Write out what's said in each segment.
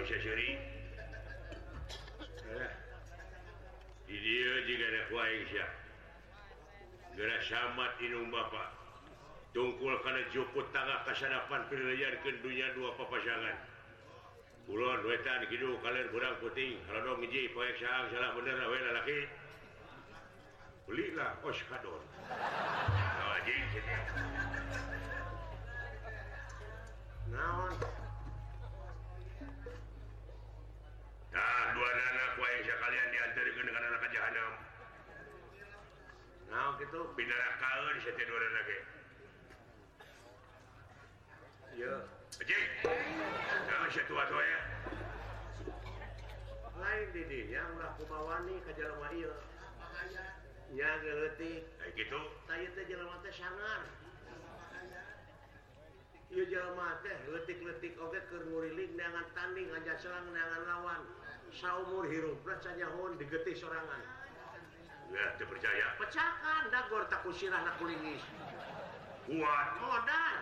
bisa seri. Di dia juga ada kuaing siap. Gerak samat inung bapak. Tungkul kana juput tangga kasadapan pililiarkeun dunia dua papasangan. Kulon wetan kidu kalian kurang puting. Kalau dong ngiji poek saang salah bener we lalaki. Belilah oskadon. Anjing kitu. Naon? Nah, dua anak wae sekalian diantarikeun ka neraka jahanam. Naon kitu binarakaeun si teh dua anak ge. Ieu, Cing. Naon si tua-tua ya? Lain di dinya ulah kumawani ka jelema ieu. Nya geutik. Ai kitu. Tah teh jelema teh sangar. Ieu jelema teh leutik-leutik oge keur nguriling neangan tanding aja serang neangan lawan. Saumur hirupna canyahoon digetih sorangan. Ya, teu percaya. Pecakan dagor tak kusirahna kulingis. Kuat modal.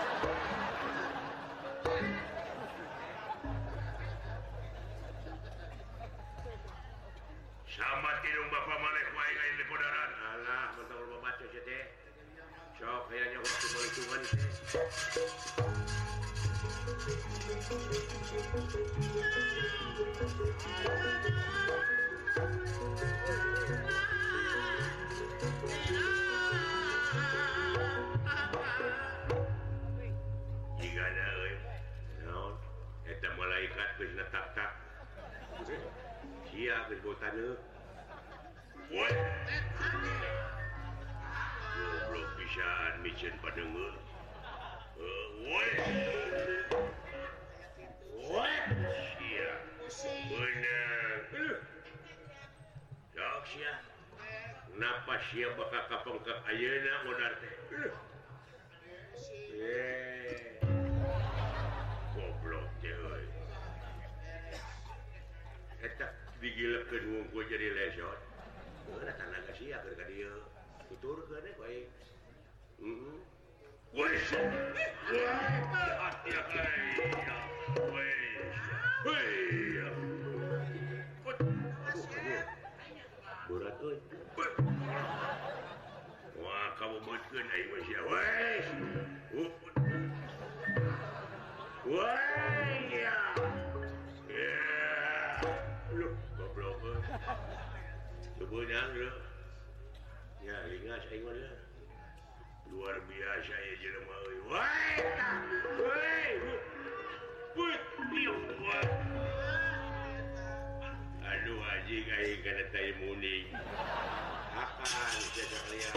Sama tidung bapak malek wae lain di podaran. Alah, mentang lu baca si teh. Sok kayaknya waktu perhitungan teh. Jigana euy. Naon? Eta malaikat geus netak-tak. Sia geus botaneu. Woi. Goblok pisan micen padeungeur. Woi. Woi. Sia. Beunang. Sok sia. Napa sia bakal kapengkak ayeuna modar teh? Goblok teh euy. Eta digilekeun wungkul jadi lesot. Heeh, tanaga sia keur ka dieu. Tuturkeun we bae. Woi. Ya woi. Woi. Berat euy. Wah, kamu beutkeun aing mah sia. Woi. Woi ya. Lu goblok euy. Sebenarnya lu. Ya, lingas aing mah ya. Luar biasa ya jelema euy. Woi. Woi. Put, liuk. Aduh anjing aing kana teh muning. Akan jaga kalian.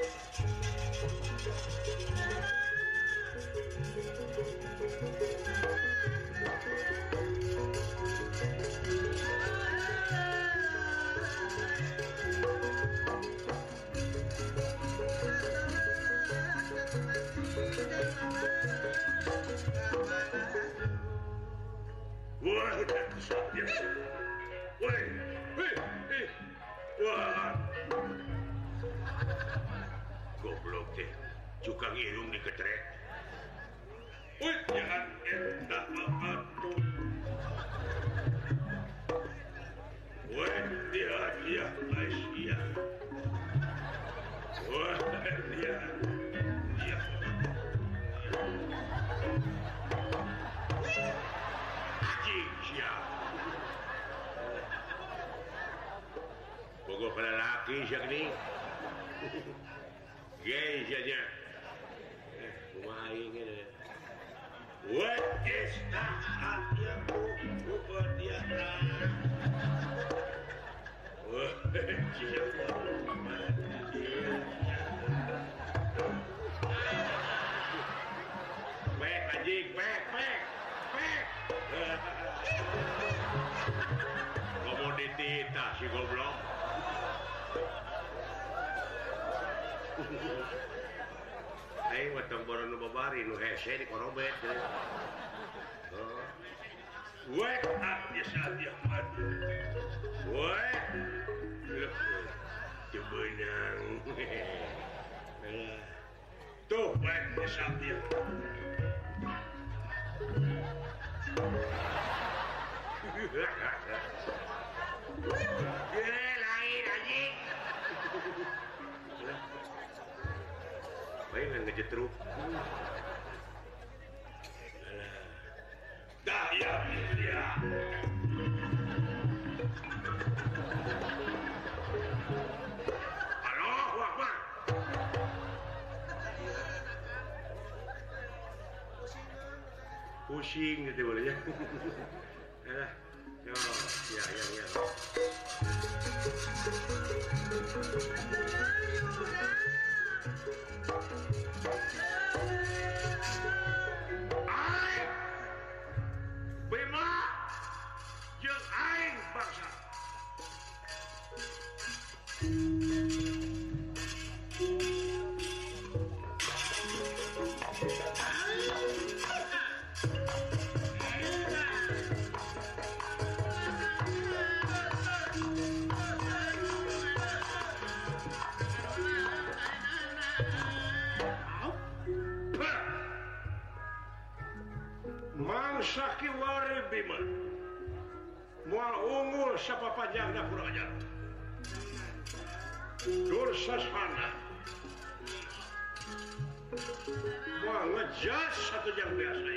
Wah, udah kesatnya. Woi, wah. Goblok teh, cukang irung diketrek. Woi, jangan entah apa-apa. Woi, dia, Asia. Woi, dia. Bogo pada laki siak ni. Gay saja. Kumaha aing ge. What is that? Ya ku dia. Wah, siapa? Pek anjing, pek. Komoditi tah si goblok. Aing mah tong boron nu babari nu hese di korobet. Wek dia saja madu. Wek. Cebenang. Tuh, wek dia saja. lain anjing. Baik ngejetruk. Dah ya. Allahu Akbar. Pusing gitu boleh ya. Alah. Yo, ya. Aing Bima jeung aing bangsa. Mangsa kiwari Bima moal unggul sapapajangna kurang ajar. Dursasana moal ngejas satu jam biasa.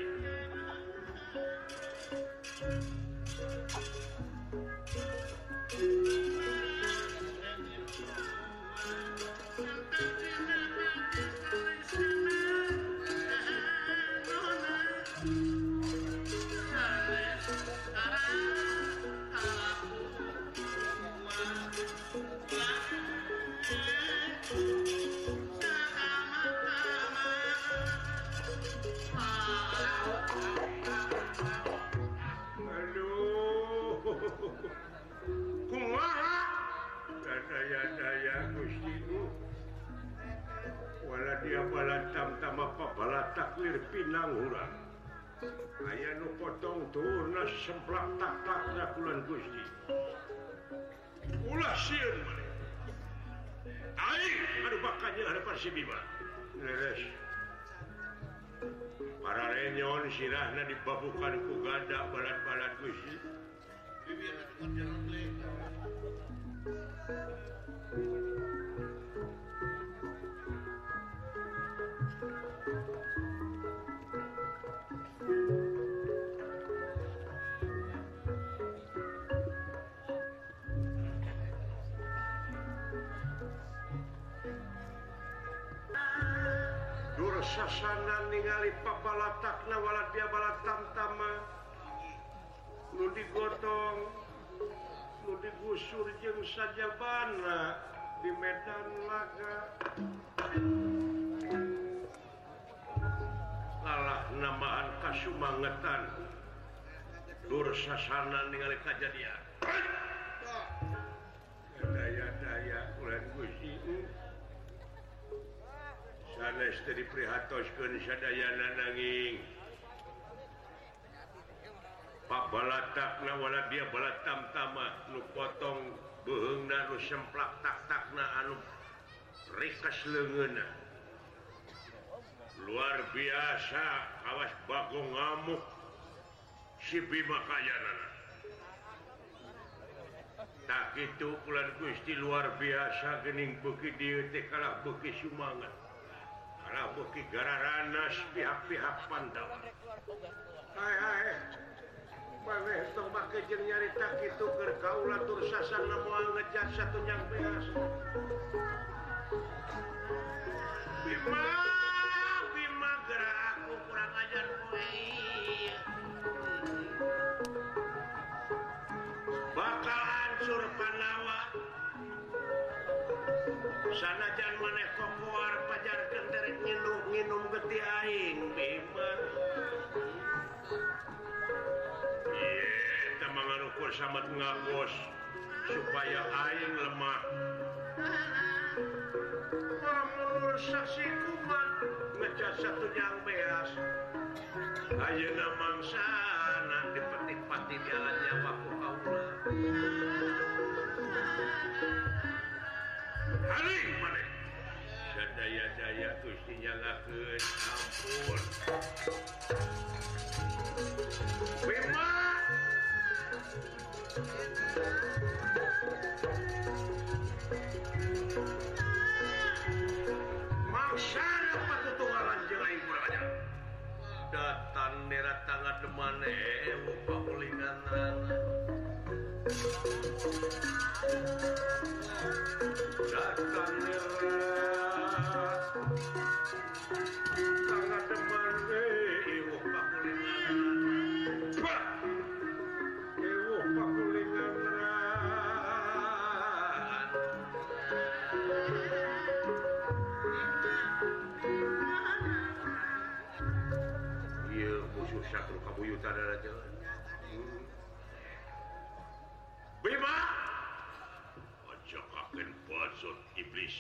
Kumaha daya Gusti nu wala dia balatam tamapa balataklir pinang urang aya nu potong turna semplak tak kulan Gusti ulah sieun mane aing anu bakanya hadapan si Bima leres para renyon sirahna dibabukan ku gada balat-balat Gusti. Dursasana ningali pabalatakna walad dia balatam-tama nu digotong nu digusur jeung sajabana di medan laga lalah namaan kasumangetan Dursasana ningali kajadian daya ulah Gusti sanes teu diprihatoskeun sadayana nanging Pak balatakna wala dia balatam-tama nu potong beheungna nu semplak tak-takna anu rikas leungeunna luar biasa awas bagong ngamuk si Bima kayanana tak kitu kulan Gusti luar biasa geuning beuki dieu teh kalah beuki sumangan kalah beuki gararanas pihak-pihak Pandawa hai maneh tong make jeung nyarita kitu keur kaula Dursasana moal ngejar satu nyang beas Bima gerak aku kurang ajar poe bakal hancur Pandawa sanajan maneh kokoar pajarkeun derek nginum geti aing Bima manganukur samat ngagos supaya aing lemah lamun saksi kuman ngejas satu jang beas ayeuna mangsana dipetik-pati jalan nyawa ku kaula haling maneh sadaya-daya Gusti nyalakeun ampun Bima nerat tangan demane pakulingan datang nerat tangan demane pakulingan pakulingan musuh satu kabuyutan aja. Bima, ajakaken bazot iblis.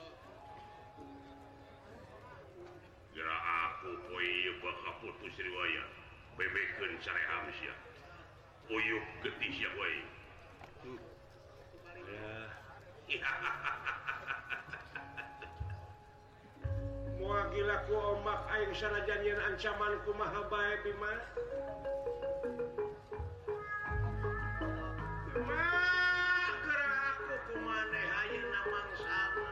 Geura aku poe bakal putus riwayat. Bebekeun sareham sia. Uyuh getih sia wae. Moal gila ku ombak aing sanajan yen ancaman kumaha bae Bima. Bima, geura aku kumaneh ayeuna mangsana.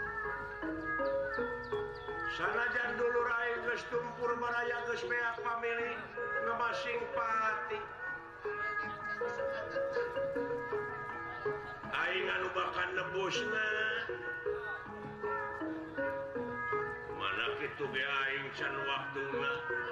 Sanajan dulur aing geus tumpur baraya geus beak pamili ngemasing pati. Aing anu bakan nebusna. Itu ge aing can waktuna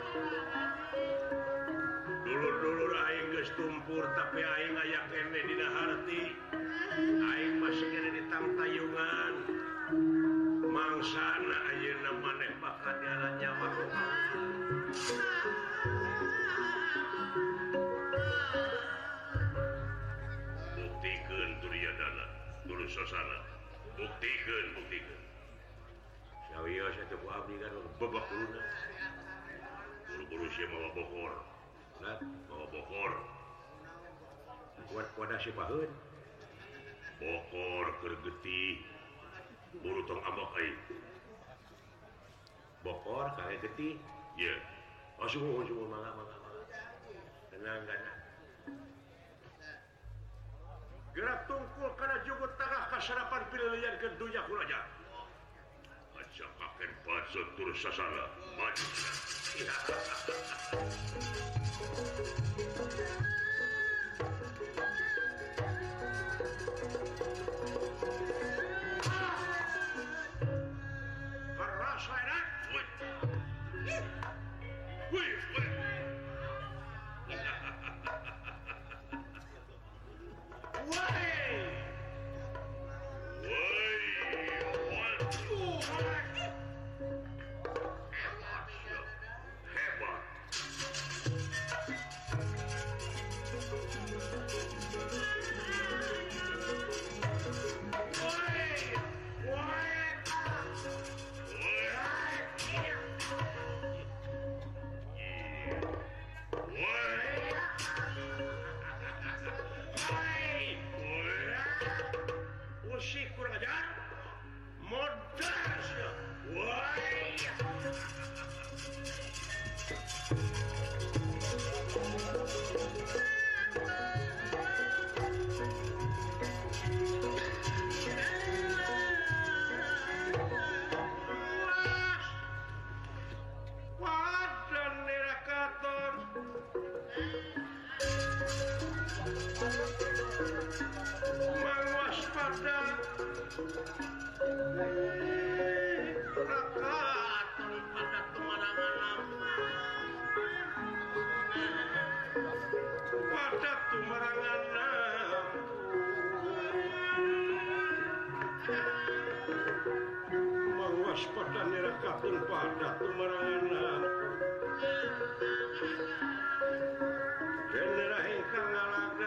dulur-dulur aing geus tumpur tapi aing aya kene dina harti aing masih kene di tangtayungan mangsana ayeuna maneh bakal diara nyawa buktikeun Duryodana dulur sasana buktikeun Sawiyo satu ku abdi kan bebak dulu buru-buru sia mawa bokor nah mawa bokor kuat si paheun bokor keur getih buru tong ambak aing bokor kage getih ye sungguh mangga tenang gerak tungkul kana jugut tangah kasarapan pililian ke dunya kulaja ajakaken bazot tur sasana maju. Keras enak. Wih. Kurang ajar modal sia. Wah. Wadan nerakaton. Waspada rakaton pada tumarangan pada tumarangan mawaspada rakaton pada tumarangan genera ingkang ngalaga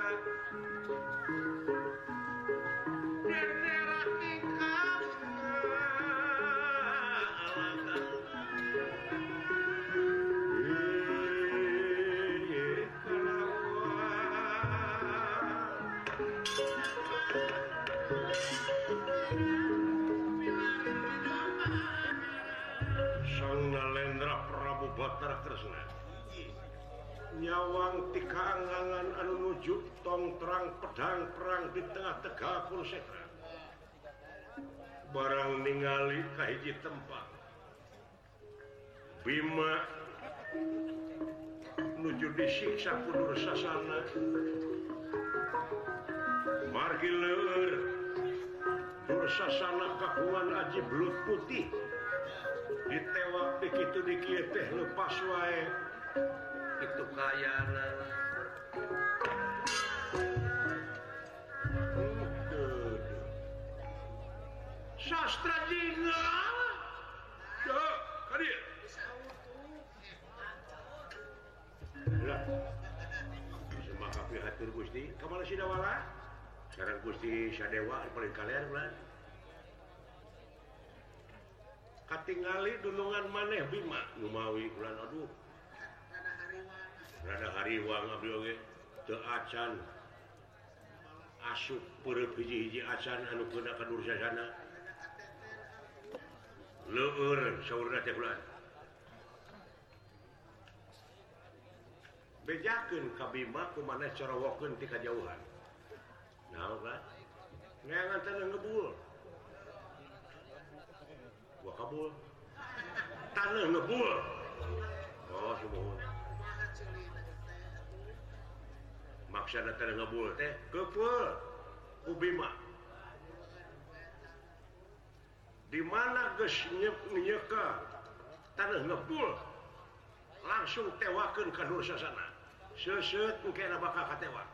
Batara Kresna nyawang tikangangan anu nuju tong terang pedang perang di tengah tegal Kurusetra barang ningali ka hiji tempat Bima disiksa kudu sasana margi leur dursasana kakuan aji belut putih ditewak begitu dikieu teh lepas wae itu kayana sastra jingga ya hadir lah semaka pihatur Gusti kamana si dawala sekarang Gusti Sadewa paling kalian bulan katingali dunungan maneh Bima ngumawi bulan aduh rada hariwang abdi oge teu acan asup peureup hiji-hiji acan anu keuna ka dursasana leur saurna teh bulan bejakeun ka Bima kumaneh corowokeun ti kajauhan naon kan neangan teh ngebul gua kabul taneuh ngebul oh sumuhun maksana teh ngebul teh keupeuh ku Bima di mana geus nyeka taneuh ngebul langsung tewakeun ka dursasana seuseut engke bakal katewak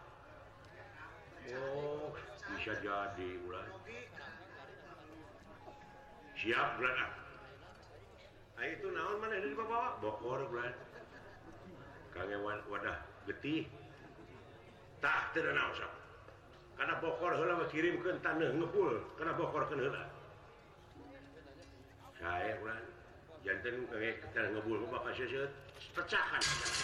oh bisa jadi ulah siap bulan itu naon mana dari bawa bokor bulan kangewan wadah getih tah teu naon sok kana bokor heula mah kirimkeun taneuh ngepul kana bokorkeun heula sae bulan janten kangge taneuh ngebul mah bakal seuseut pecahkan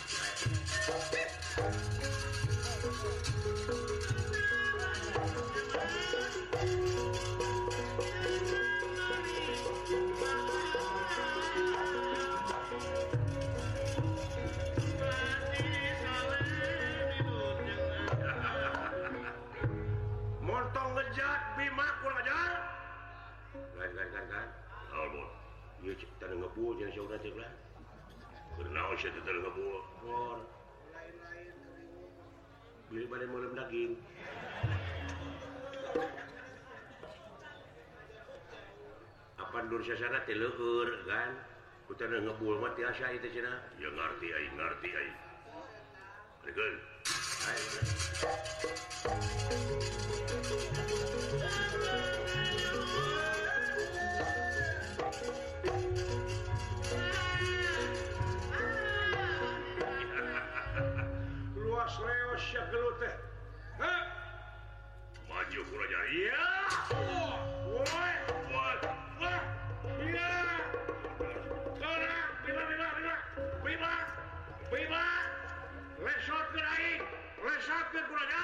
montong ngejat Bima kurang ajar kan almon ieu taneuh ngebul jeung saudara teh lah kenaon sia teh taneuh ngebul mor beli bade meuleuh daging apan dursasana teh leueur kan ku taneuh ngebul mah tiasa ieu teh cenah ya ngarti aing Regeun ayo luas leos sia gelut teh maju kuraja iya woi iya kana Bima lesotkeun aing lesotkeun kuraja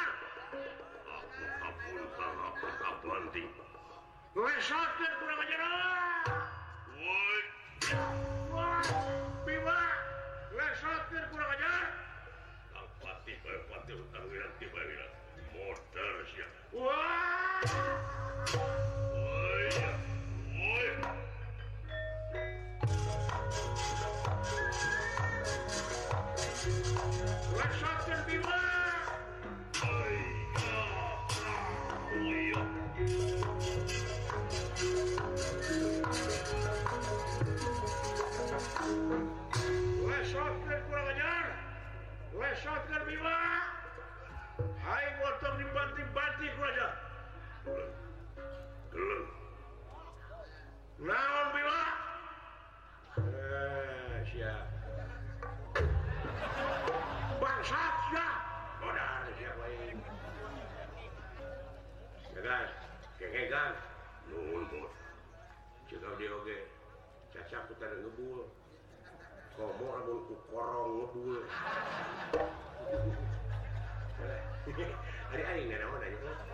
aku kapanting lesotkeun kuraja woi Bima lesotkeun kuraja pati utang wirang tiba wirang motor sia wah woi lesotkeun Bima lesotkeun kurang ajar lesotkeun Bima hai motor dibanting-banting kurang ajar geleng naon Bima siap bangsat siap modal siap lain ya kan kekegan nuhun bos cekal dia oge cacak ku tadi ngebul komo lamun ku korong ngebul hari aing na naon aja tuh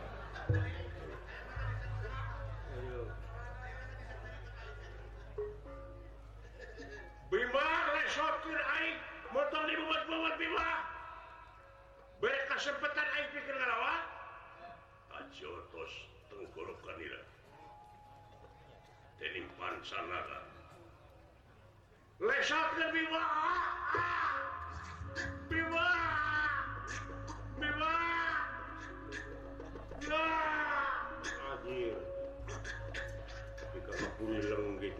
aduh Bima lesotkeun aing motor dibuat-buat Bima bere kasempatan aing pikir ngalawan ajotos tenggorokan ira tenimpan sanara lesotkeun Bima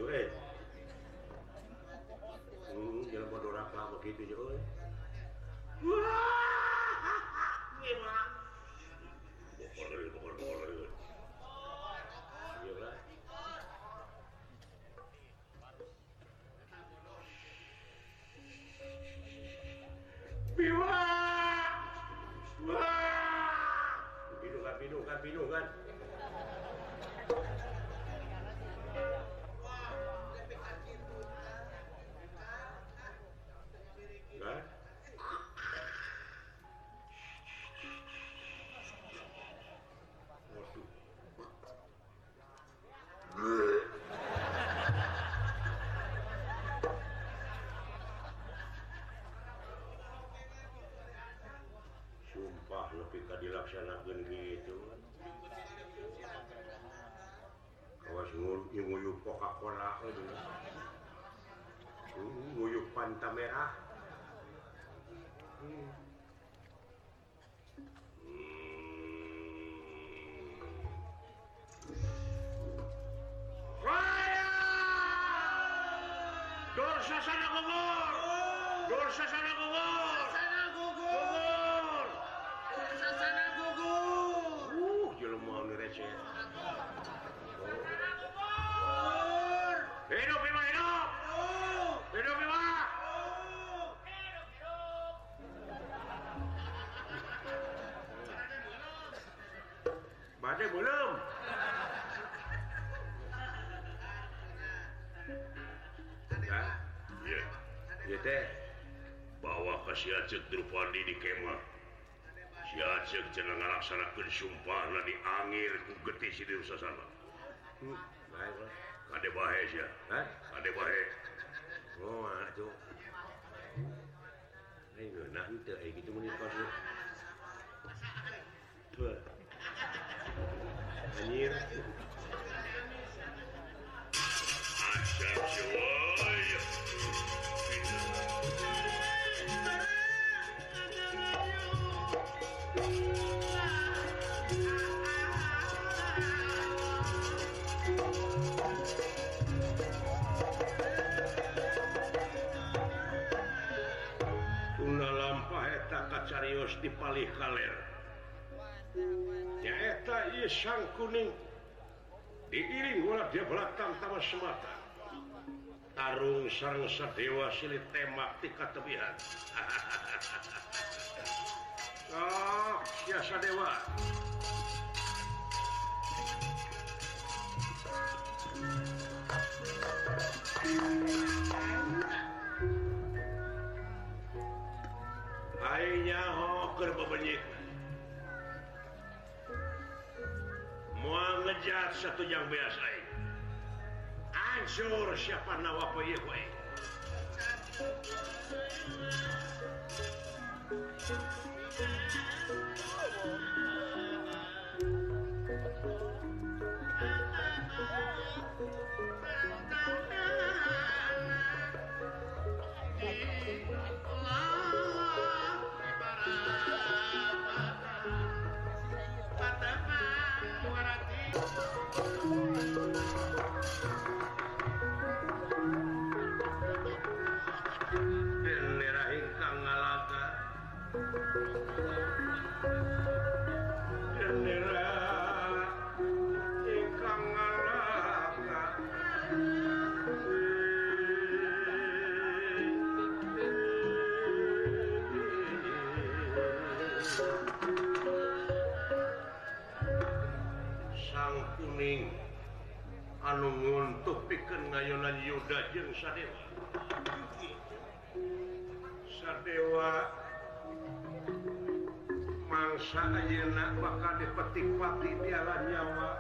Jangan doraka begitu ya, wah, gimana? Pokoknya. Iya lah. Biwa, wah, bingung kan. Sumpah lebih ka dilaksanakeun gitu. Kawas nguyup Coca-Cola itu. Nguyup Fanta merah. Dorsasana gugur. Dorsasana gugur. Dorsasana gugur. Jelema nu receh. Hidup Bima, hidup. Hidup Bima. Bade belum. Ya teh bawa ke si Aceh Drupadi di kemah. Si Aceh cenah ngalaksanakeun sumpahna di angir ku getih si Dursasana. Baik lah. Kade bae sia. Hah? Kade bae. Oh, atuh. Ayo nah henteu aya kitu mun pas. Tuh. Anjir. Asyik coy. Carios di palih kaler nyaeta ieu Sang Kuning diiring ulah dia belakang tamas semata tarung sareng sadewa silih tembak ti katebihan. Oh, sia sadewa aingnya keur bebenyik moal ngejat satu yang biasa hancur siapa nawa poe poe anu nguntuh pikeun ngayonan Yuda jeung Sadewa. Sadewa mangsa ayeuna bakal dipetik pati piala nyawa.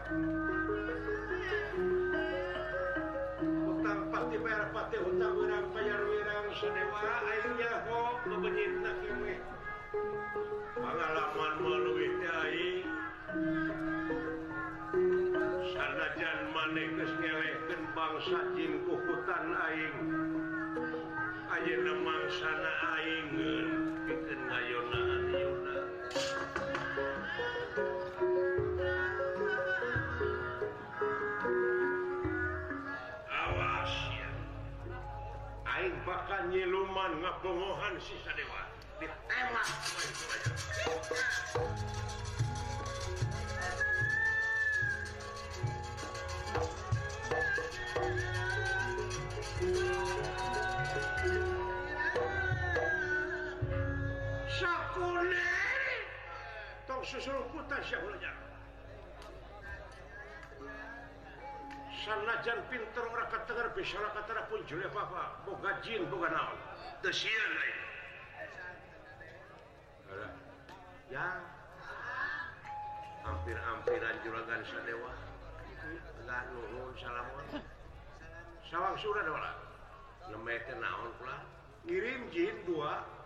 Utang pati bayar pati hutang urang bayar wirang Sadewa aing nyaho bebenyitna kene. Pangalaman leuwih teh aing sanajan maneh geus ngelehkeun bangsa jin kukutan aing ayeuna mangsana aing pikeun ngayonaan Yuda. Awas lawan ngabongohan si Sadewa ditembak Sakune tong susul putar syahulanya sanajan pinter ora katenger bisa katara pun jule apa boga jin boga naon teu sieun lain ya hampir-hampiran juragan Sadewa enggak nuhun salamun sawang surah dola nemete naon pula ngirim jin 2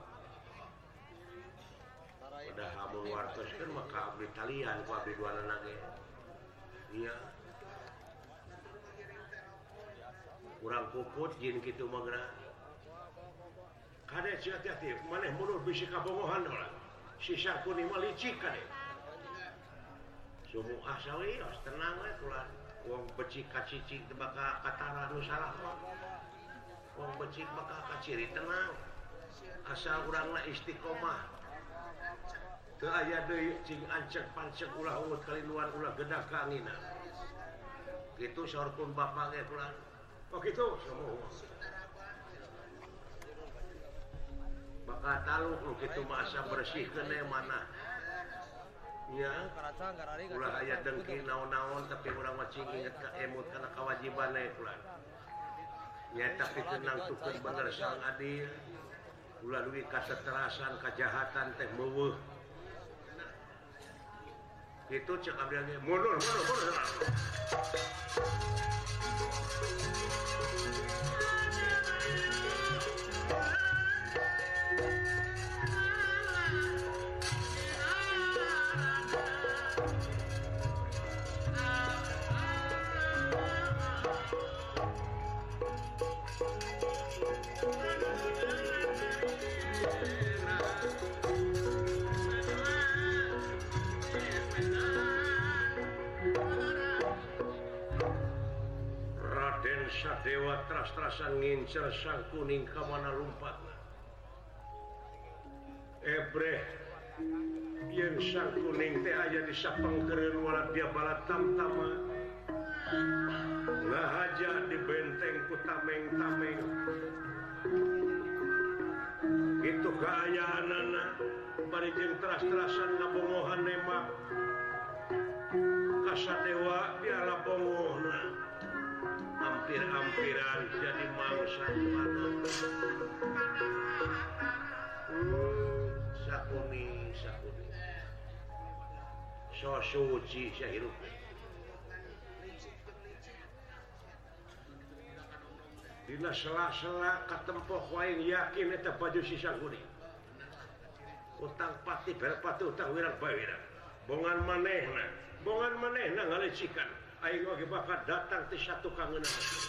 udah hamun wartoskeun maka abdi talian ku abdi duanana ge iya kurang puput jin kitu mah geura kade hati-hati maneh mundur bisi kabongohan ulah si Sakuni mah licik kade sumu sawios tenang we kulan wong becik kacicing teu bakal katara nu salah mah wong becik bakal kaciri tenang asal urangna istiqomah teu aya deui cing ancek pancek ulah ungut kalinuan ulah gedah ka angina kitu saurpun bapak ge kulan oh gitu semua bakal tahu lu gitu masa bersih kene mana ya ulah aya dengki naon-naon tapi urang mah cing inget ka emut kana kewajiban we kulan nya tapi tenang tukeun bener sang adil ulah duwi kaseterasan kajahatan teh meuweuh kitu cek abdi ge mundur Sadewa tras-trasan ngincer Sang Kuning ka mana lompatna ebreh yen Sang Kuning teh aya di sapengkereun walad dia bala tamtama ngahaja di benteng ku tameng-tameng itu kaayaanana bari jeung tras-trasan ngabongohan nembak ka Sadewa diala bongohna hampir-hampiran jadi mangsa mana Sakuni so suci sahirup dina sela-sela katempoh wae yakin eta baju si Sakuni utang pati berpati utang wirang bawirang bongan manehna ngalecikan aing oge bakal datang ti satu kangeuna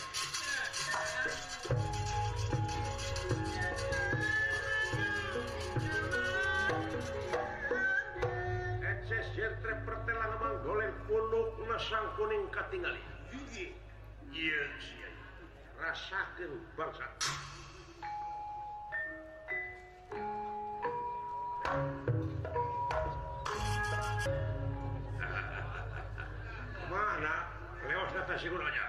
eces jentre pertelang manggoleng pundukna Sang Kuning katingali ieu sia rasakeun bangsa mana lewas data siguranya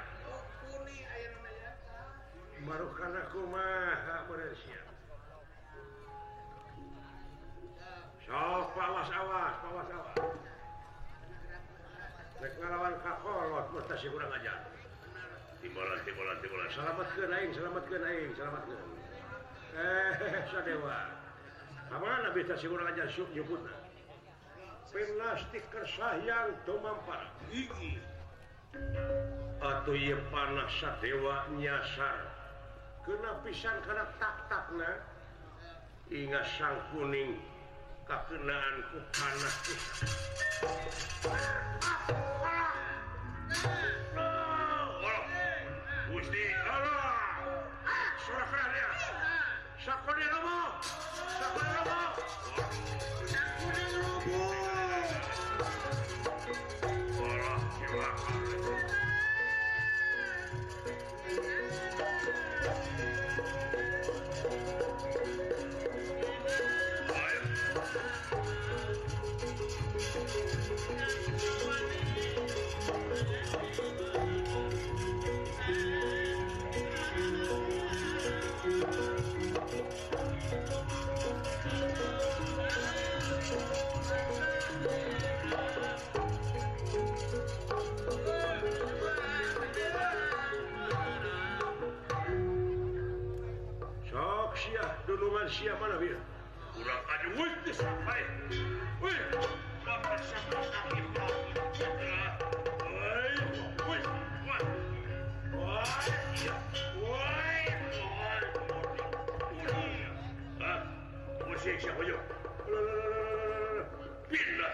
baru karena kumaha beresia sok pawas-awas rek ngalawan kakolot mesti sigurang aja timbalan selamatkeun aing Sadewa kamana bisa sigurang aja syuk nyebutna penastik kersayang tumampar gigi atuh ieu panah Sadewa nyasar kena pisan kana tak-takna ingat Sang Kuning kakenaan ku panah pisan Gusti Allah surah dia Sakone romo padunungan siapa mana biar kurang aja wih sampai wih sampai siapa yo pindah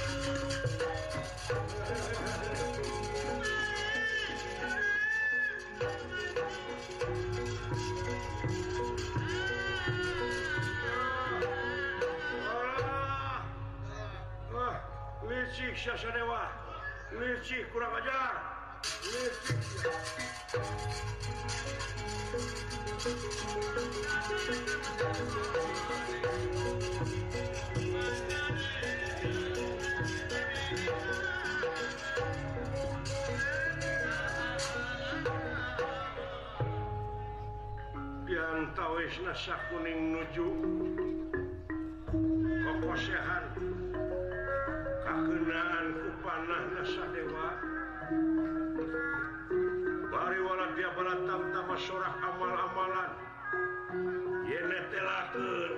licik Sasadewa licik kurang ajar licik yang tawis nasa kuning nuju kokosehan kakenaan ku panah nasa dewa bari wala dia balatam tama sorak amal-amalan yene telakeun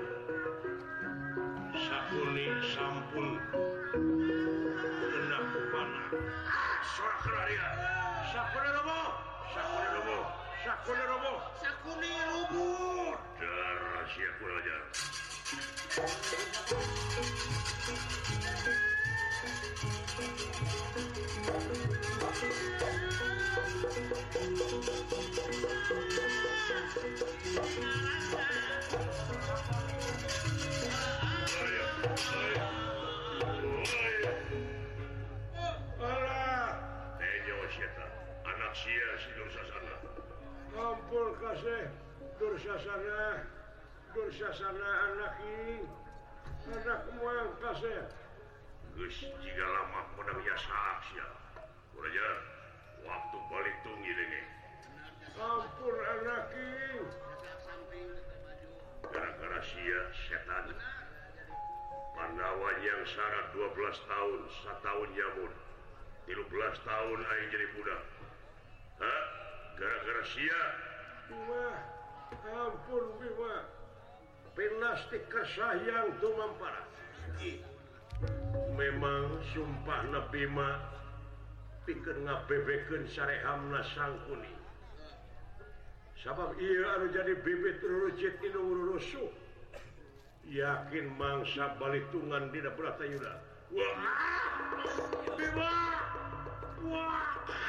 sakuning sampun kena ku panah sorak kena dia sakuning roboh sakuning roboh sakuning roboh sakuning roboh darah sia kurang ajar anak sia si Dursasana ampun kasih Dursasana anak ini anak moyang kasih geus jiga lama pada biasa sia uraja waktu balik tunggi denge ampun anak ini gara-gara sia setan Pandawa yang syarat 12 tahun 1 tahun nyamun 13 tahun aing jadi budak hah gara-gara sia Bima ampun Bima pinastik kesayang tumampara memang sumpah Nabi Bima pikeun ngabebekeun sarehamna sangkuni sabab iya anu jadi bibit rujit inu rusuh yakin mangsa balitungan dina Bratayuda wah Bima wah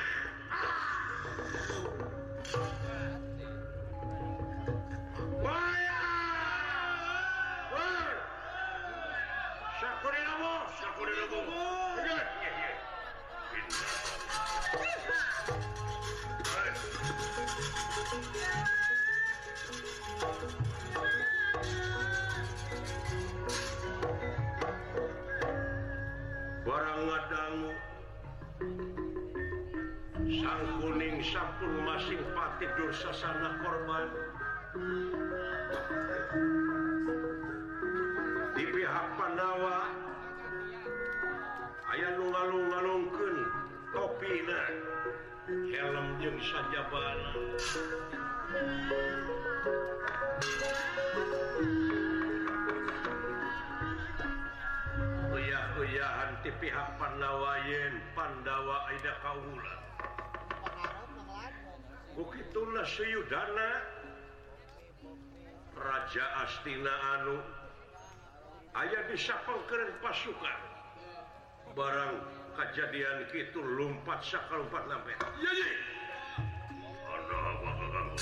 barang ngadangu sang kuning sampun masing pati Dursasana korban di pihak Pandawa aya nu ngalung-ngalungkeun topina helm jeung sajabana uyah-uyahan ti pihak Pandawa yen Pandawa aida kaula bukituna Suyudana Raja Astina anu aya disapengkeun pasukan barang kejadian kitu lumpat sakalumpat lampe iya ye ana apa kamu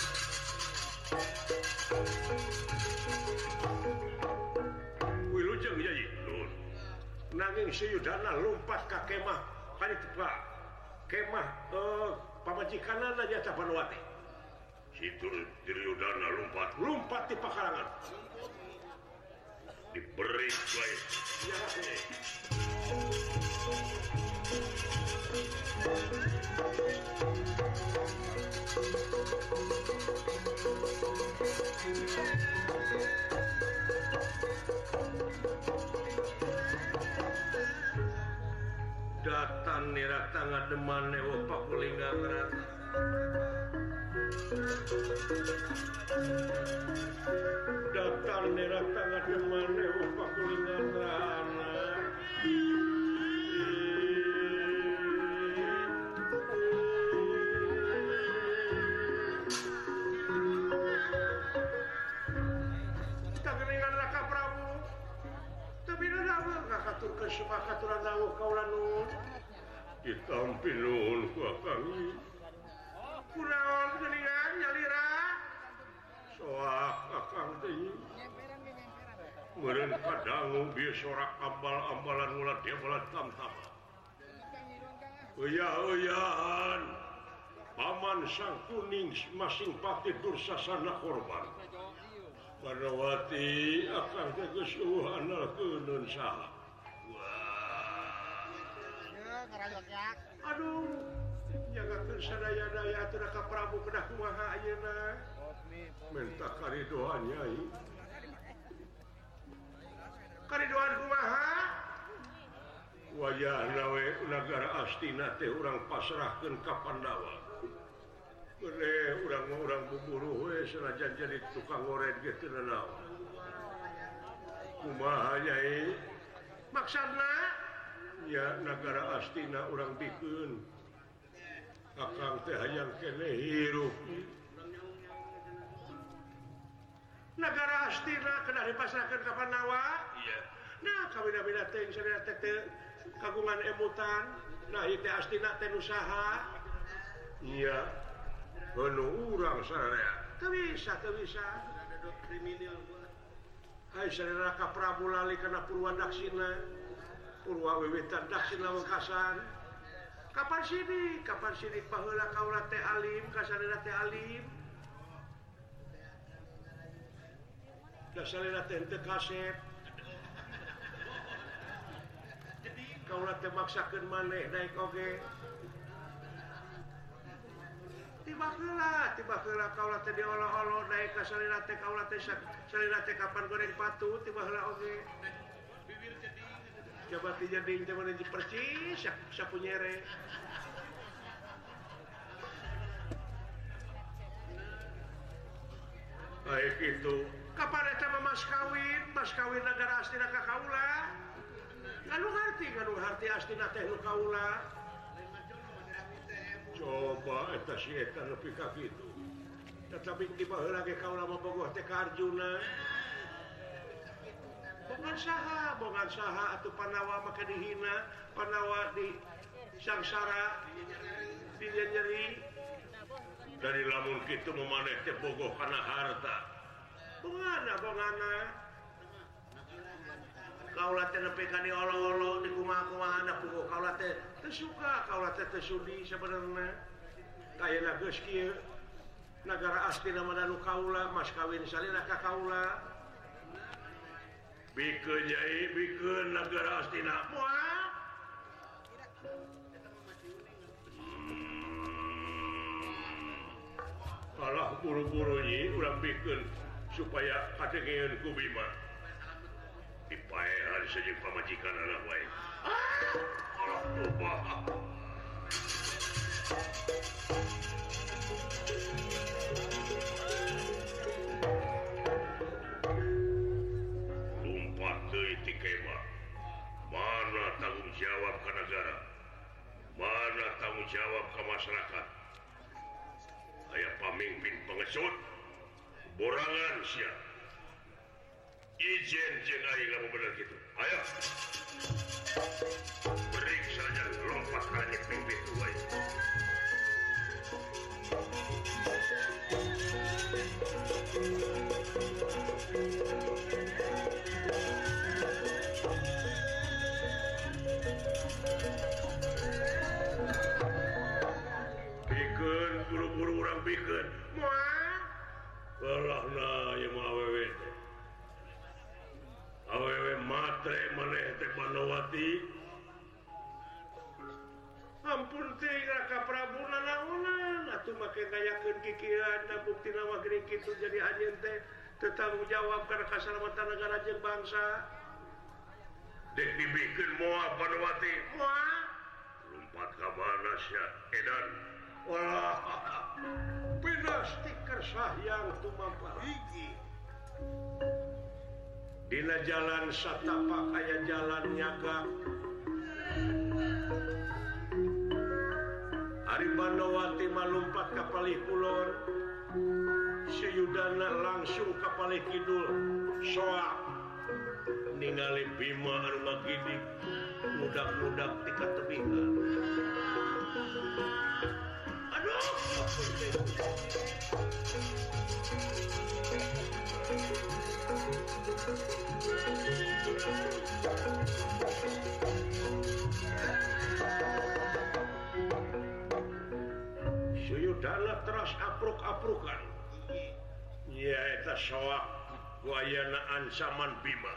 wilujeng iya ye nanging Suyudana lumpat ka kemah panitepa kemah pamajikanana nyata Panwati situ Duryudana lumpat di pakarangan diberi bae ya datan nira tangga deman newo pakulingga ngerata Datar nerah tangga demane upak kulingan rana. Tak kelingan Raka Prabu. Tapi nana ngakatur ke sepakaturan dawuh kaula nuhun. Ditampi nuhun ku Akang. Kunaon geuningan nyalira? Soak Akang teh. Meureun kadangu bieu sorak ambal-ambalan ulah dia balat tam-tam. Euya-euyahan. Paman Sang Kuning masing pati dursasana korban. Panawati Akang teh geus eueuh andalkeun saha. Aduh, jagakeun sadaya-daya atuh Raka Prabu kedah kumaha ayeuna. Minta karidoan Nyai. Karidoan kumaha? Wayahna we nagara Astina teh urang pasrahkeun ka Pandawa. Gede urang buburu we sanajan jadi tukang ngoret ge teu naon. Kumaha Nyai? Maksudna ya nagara Astina urang bikeun. Akang teh hayang keneh hirup. Nagara Astina kedah dipasrahkeun ka Pandawa. Iya. Nah, kabina-bina teh sadaya teh kagungan emutan. Nah, ieu teh Astina teh nu saha? Iya. Heuh urang sadaya. Teu bisa. Ada kriminal buat. Hai sadaya Raka Prabu lali kana Purwa Daksina. Purwa wiwitan Daksina wengkasan. Kapan sini paheula kaula teh alim, kasadana teh alim. Dasalina teh teu kasep. Kaula teh maksakeun maneh daek oge. Tiba heula kaula teh diolo-olo daek ka salina teh kaula teh salina teh kapan goreng patu tiba heula oge. Coba ti jadi teh meuneuh percis sapunyere. Baik itu. Kapan eta mas kawin nagara Astina ka kaula? Nganu harti Astina teh nu kaula. Coba eta si eta nepi ka kitu. Tetapi tiba heula ge kaula mabogoh teh ka Arjuna. Bongan saha atuh Pandawa make dihina, Pandawa di sangsara, dinyeri. Dari lamun kitu memaneh teh bogoh kana harta. Bongana. Kaula teh nepi ka diolo-olo di kumaha-kumahana bogoh kaula teh teu suka, kaula teh teu sudi sabenerna. Kayana geus kieu. Nagara Astina mah nu kaula, mas kawin salina ka kaula. Bikeun Nyai, bikeun nagara Astina. Moal. Alah buru-buru nyi urang bikeun supaya kadengeun ku Bima. Dipaehan saja pamajikan anak wae. Allah tobah. Lumpat deui ti kemah. Mana tanggung jawab ka negara? Mana tanggung jawab ka masyarakat? Aya pamimpin pengesut, borangan sia. Ijen jeung aing lamun bener kitu. Aya. Berik saja lompat ka nyeping pintu wae. Bikeun buru-buru urang bikeun. Moal. Kalahna ieu mah awewe. Awewe matre maneh teh Panawati. Ampun teh Raka Prabu nanaonan atuh make ngayakeun kikieuan buktina mah geuning kitu jadi anjeun teh teu tanggung jawab kana kasalamatan negara jeung bangsa. Dek dibikeun moal Panawati. Moal. Lumpat ka mana sia? Edan Wah, pina stiker sahyang tumampah. Dina jalan satapak aya jalan nyaga. Aribanowati malumpat ka palih kulon. Si Yudana langsung ka palih kidul. Soak ningali Bima anu ngagidik mudak-mudak ti katebingan. Aduh, Suyudana terus apruk-aprukan. Ya eta soak wayana ancaman Bima.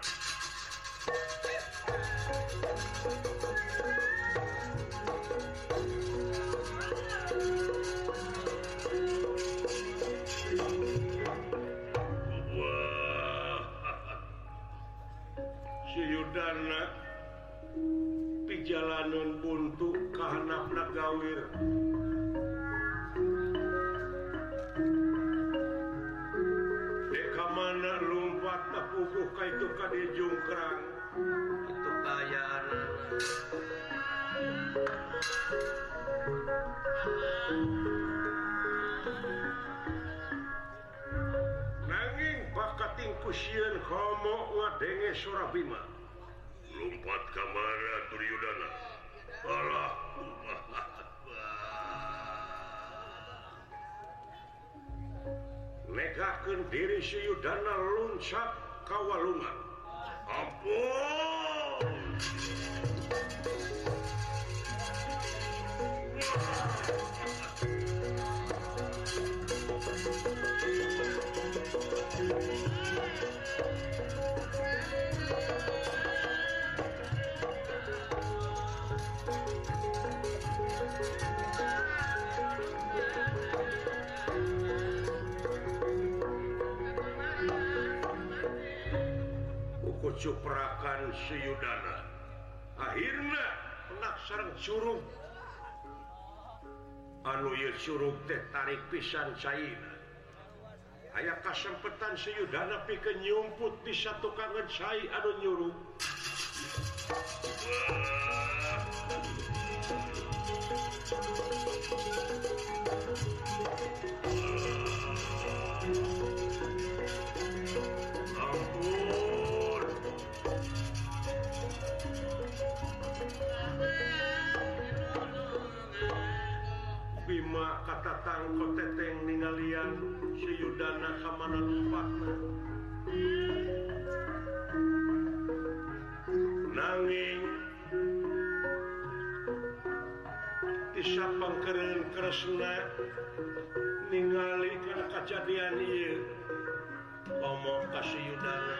Suyudana pijalanan buntu kahanapna gawir. Deka mana lumpat tapukuh kaitu kadi jungkrang. Itu kayaan. Nanging bakating kusieun komo ngadenge suara Bima. Lumpat ka mana Duryudana? Alah. Negakeun diri Suyudana loncat ka walungan. Ampun. Cuprakan Suyudana akhirnya nak sareng curug anu ieu curug teh tarik pisan caina aya kasempetan Suyudana pikeun nyumput di satu kangen cai anu nyurug. Bima katatang koteteng ningalian Suyudana kamana lumpatna. Nanging disapangkeun Kresna ningali kana kajadian ieu ngomong ka Suyudana.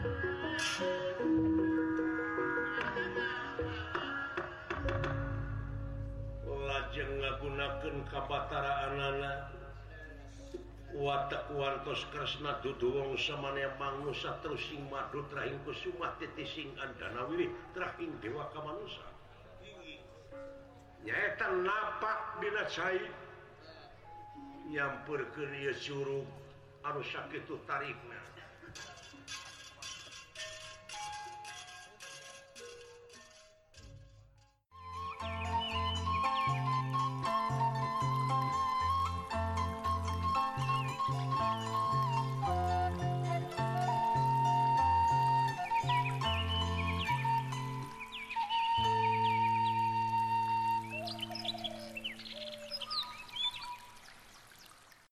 Lajeng ngagunakeun kabataraanana watak wantos Kresna duduwong samana manusa terus sing madu trahing kusumah titising andana wilih trahing dewa kamanusa. Nyaeta napak dina cai nyamperkeun ieu curug anu sakitu tarikna.